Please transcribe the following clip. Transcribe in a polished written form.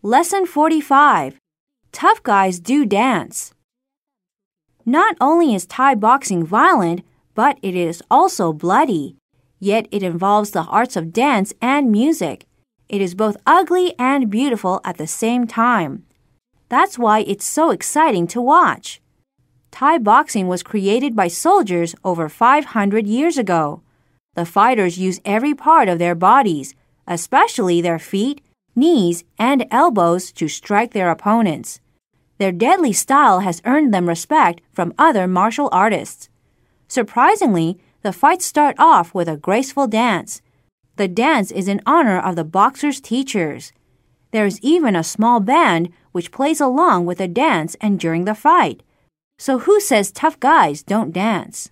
Lesson 45. Tough guys do dance. Not only is Thai boxing violent, but it is also bloody. Yet it involves the arts of dance and music. It is both ugly and beautiful at the same time. That's why it's so exciting to watch. Thai boxing was created by soldiers over 500 years ago. The fighters use every part of their bodies, especially their feet, knees, and elbows to strike their opponents. Their deadly style has earned them respect from other martial artists. Surprisingly, the fights start off with a graceful dance. The dance is in honor of the boxers' teachers. There is even a small band which plays along with the dance and during the fight. So who says tough guys don't dance?